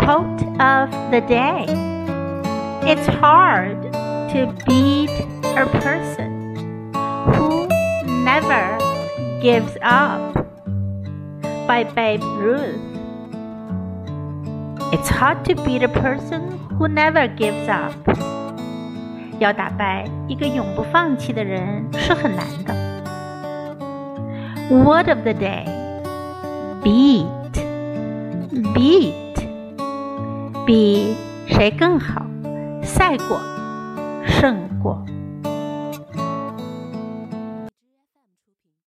Quote of the day. It's hard to beat a person who never gives up, by Babe Ruth. It's hard to beat a person who never gives up. 要打败一个永不放弃的人是很难的。Word of the day. Beat. Beat. 比谁更好，赛过，胜过。